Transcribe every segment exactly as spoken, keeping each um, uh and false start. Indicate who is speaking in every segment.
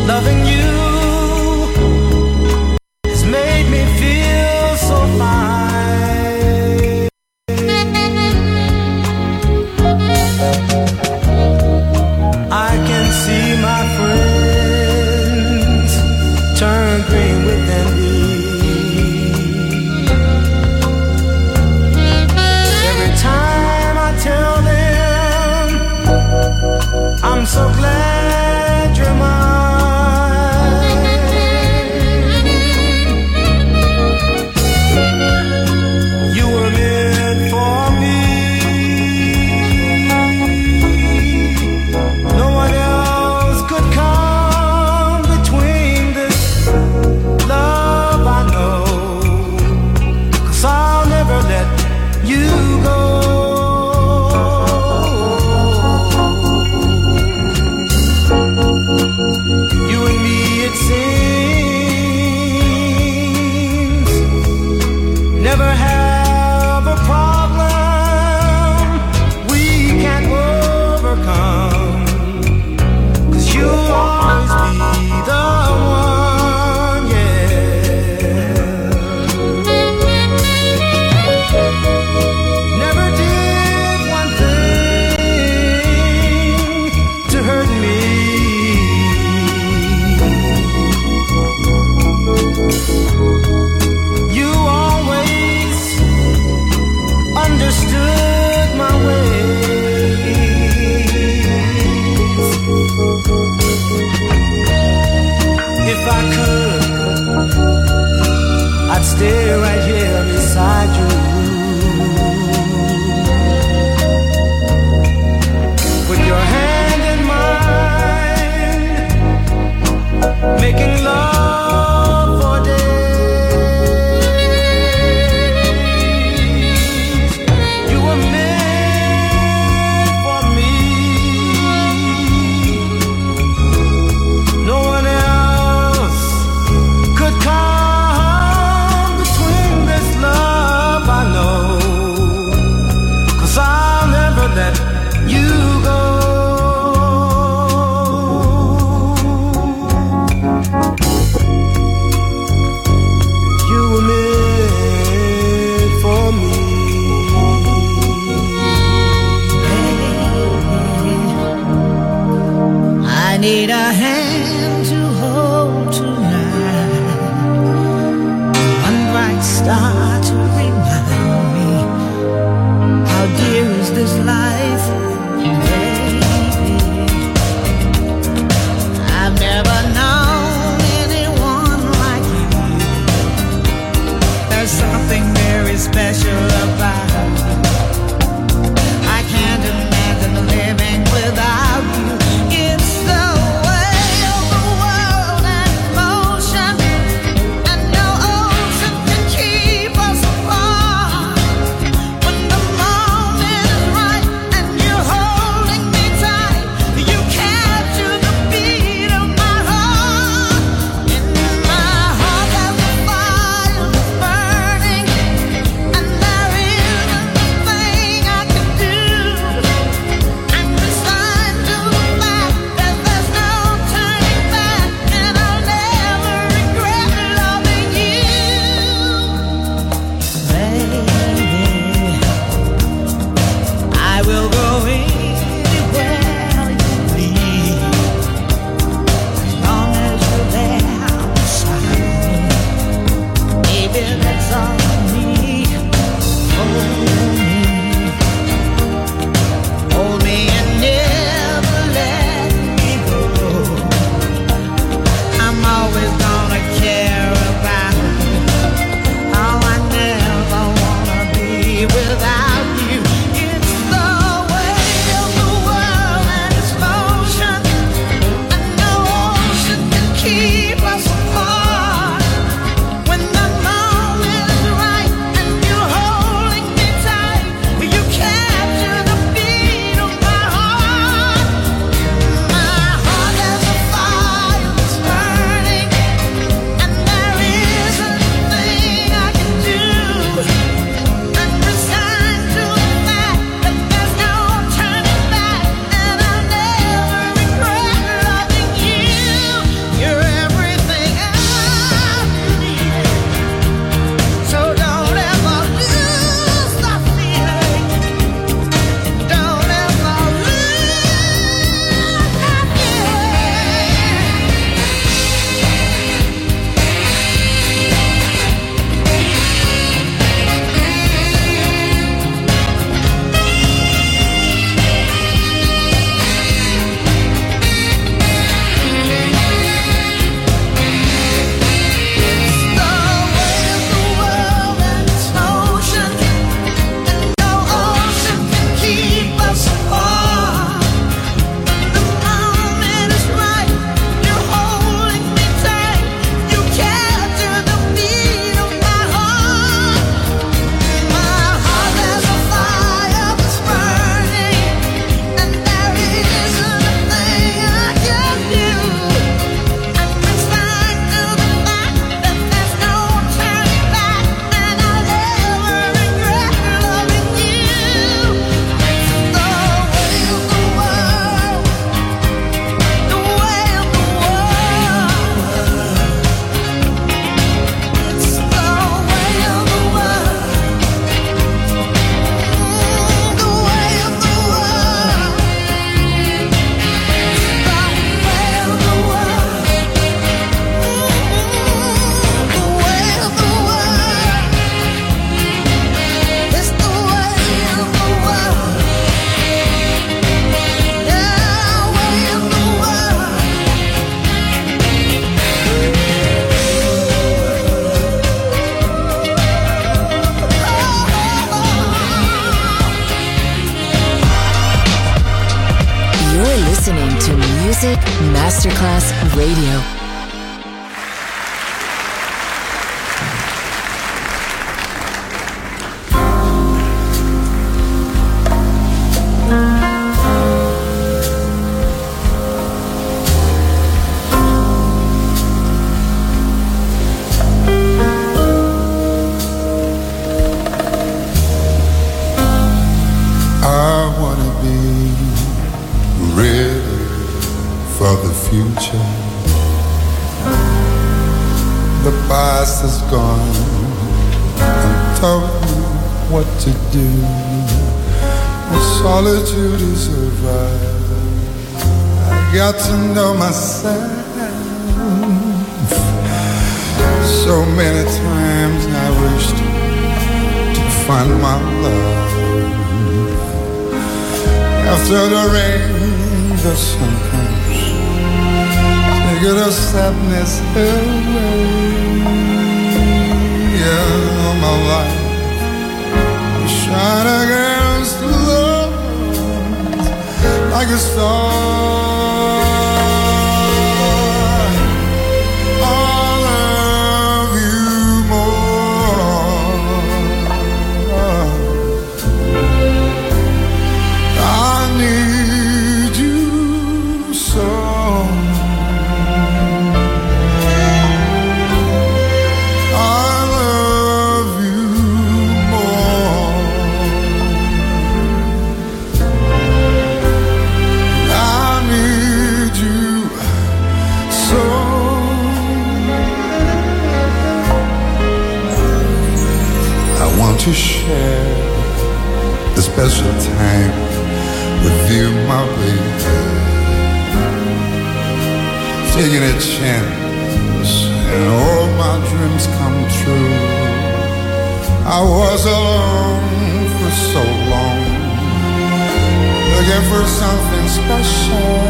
Speaker 1: Loving you has made me feel so fine. I can see my friends turn green within me. Every time I tell them I'm so glad you're mine. You were meant for me. No one else could come between this love I know, 'cause I'll never let you go. You and me, it seems, never have a problem we can't overcome, 'cause you'll always be the one, yeah. Never did one thing to hurt me. You always understood my ways. If I could, I'd stay right here beside you, with your hand in mine, making love for days. You were meant for me. No one else could come between this love I know, 'cause I'll never let you go. You were meant for me.
Speaker 2: I need a hand to hold tonight, one bright star to remind me how dear is this life, baby. I've never known anyone like you. There's something very special about you. I can't imagine living without you. It's the way of the
Speaker 3: Masterclass Radio.
Speaker 4: The past is gone and told me what to do. The solitude is over. I got to know myself. So many times I wished to find my love. After the rain, the sun comes. Take the sadness away. Yeah, all my life we shine against the Lord like a star. I love you more. I need you so. To share the special time with you, my baby. Taking a chance and all my dreams come true. I was alone for so long, looking for something special,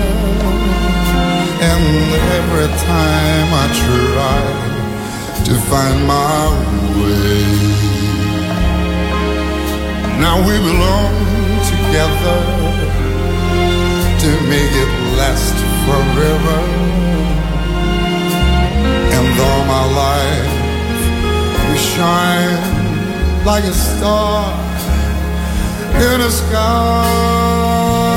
Speaker 4: and every time I try to find my way. Now we belong together to make it last forever. And all my life we shine like a star in the sky.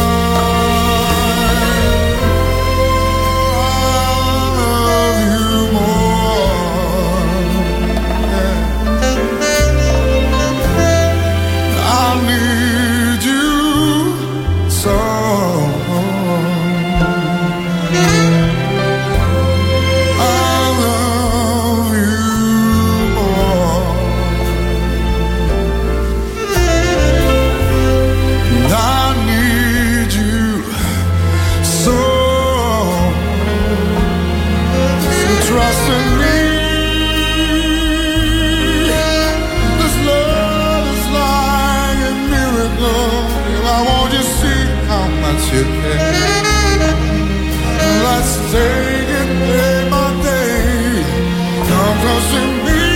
Speaker 4: Let's take it day by day. Come close to me.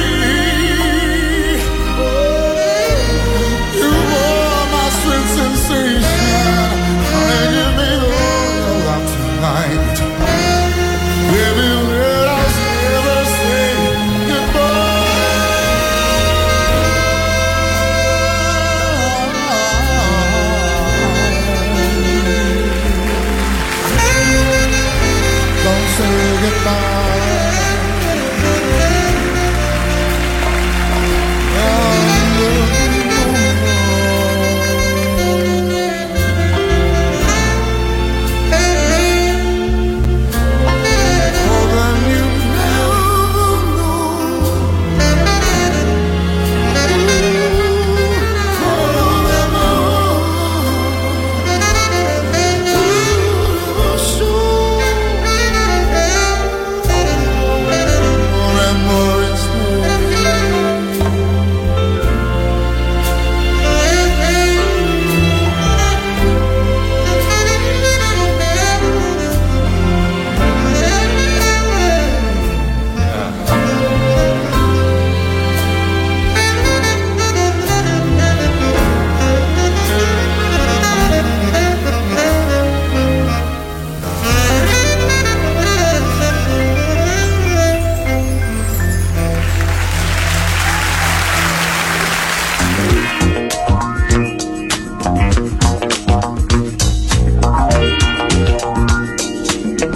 Speaker 4: You are my sweet sensation. And give me all your love tonight. Baby, let us never say goodbye. Don't say goodbye.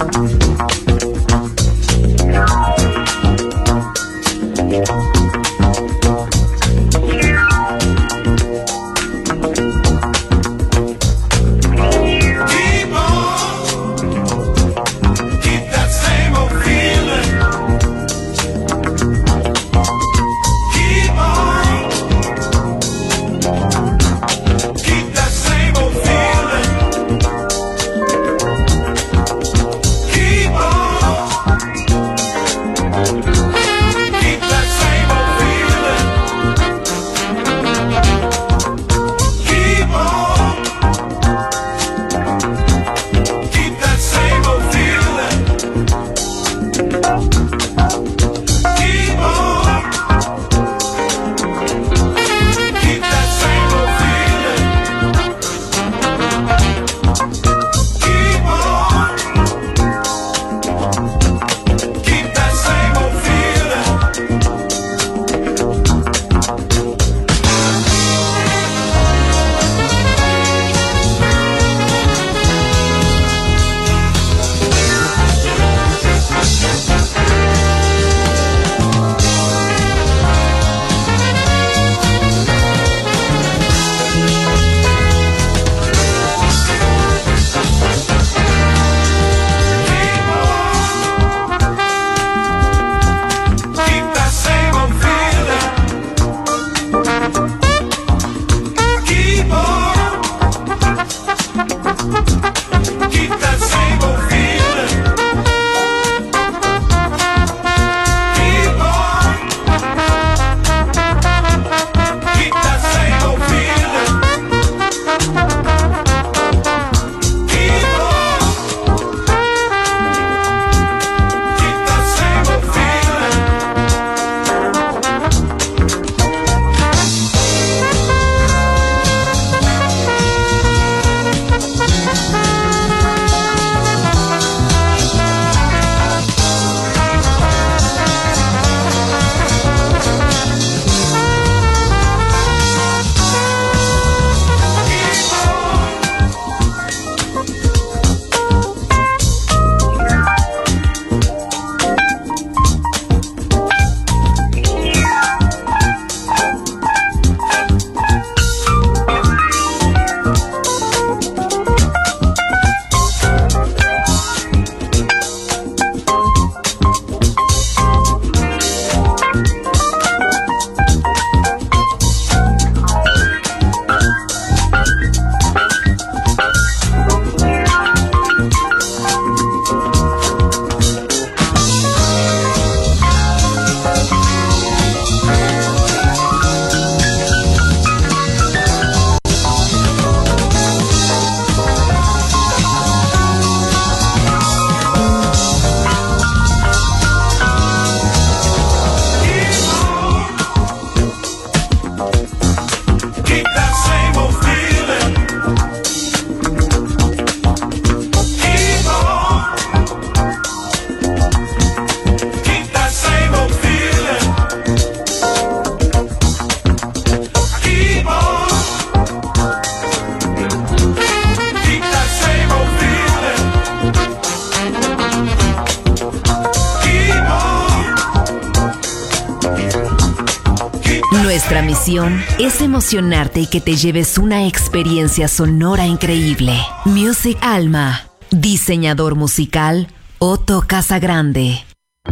Speaker 3: Nuestra misión es emocionarte y que te lleves una experiencia sonora increíble. Music Alma. Diseñador musical, Otto Casagrande.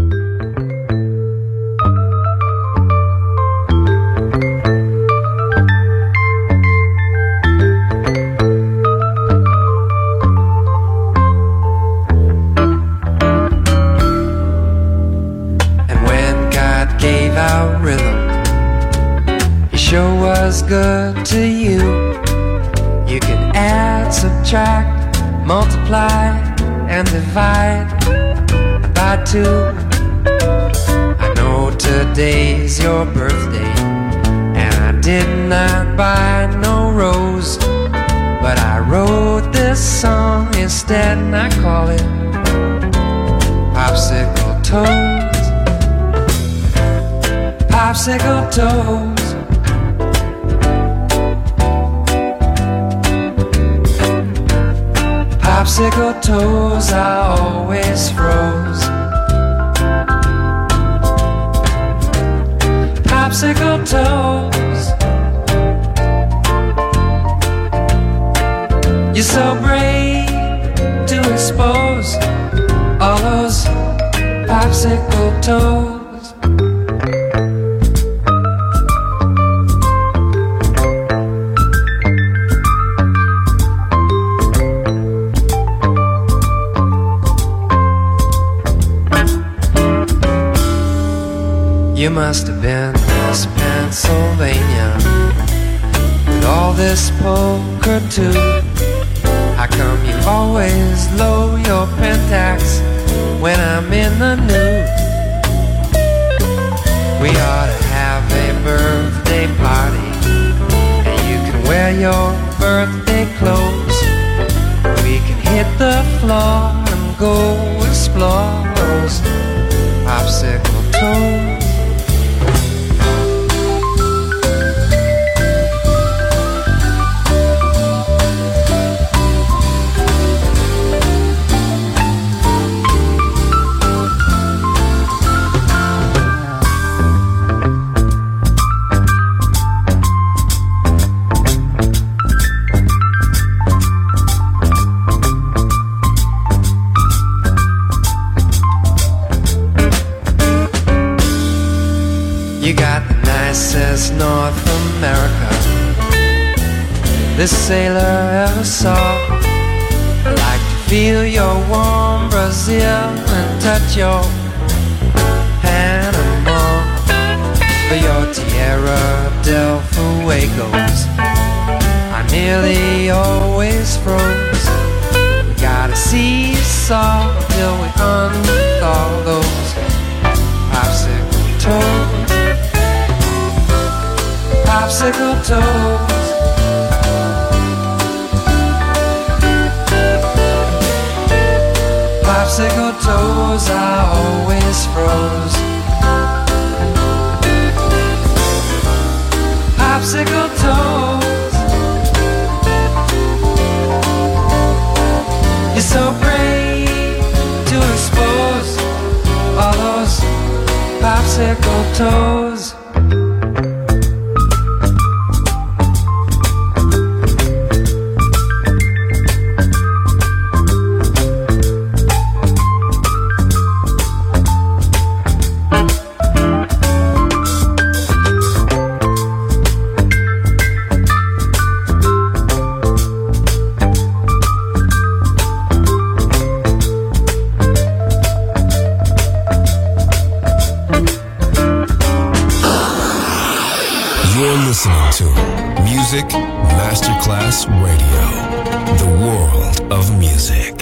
Speaker 5: Good to you. You can add, subtract, multiply, and divide by two. I know today's your birthday, and I did not buy no rose, but I wrote this song instead, and I call it Popsicle Toes. Popsicle Toes. Popsicle toes I always froze. Popsicle toes, you're so brave to expose all those popsicle toes. You must have been Miss Pennsylvania with all this poker too. How come you always lower your pentax when I'm in the nude? We ought to have a birthday party, and you can wear your birthday clothes. We can hit the floor and go explore those popsicle toes. North America this sailor ever saw. I like to feel your warm Brazil and touch your Panama. For your Tierra del Fuegos I nearly always froze. We gotta seesaw till we unthaw those popsicle toes. Popsicle toes, popsicle toes I always froze. Popsicle toes, you're so brave to expose all those popsicle toes.
Speaker 6: Listening to Music Masterclass Radio, the world of music.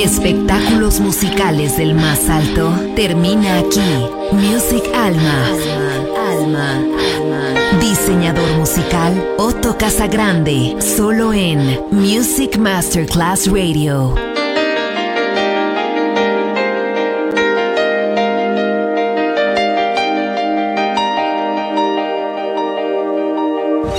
Speaker 3: Espectáculos musicales del más alto termina aquí. Music Alma. Alma. Alma. Diseñador musical Otto Casagrande. Solo en Music Masterclass Radio.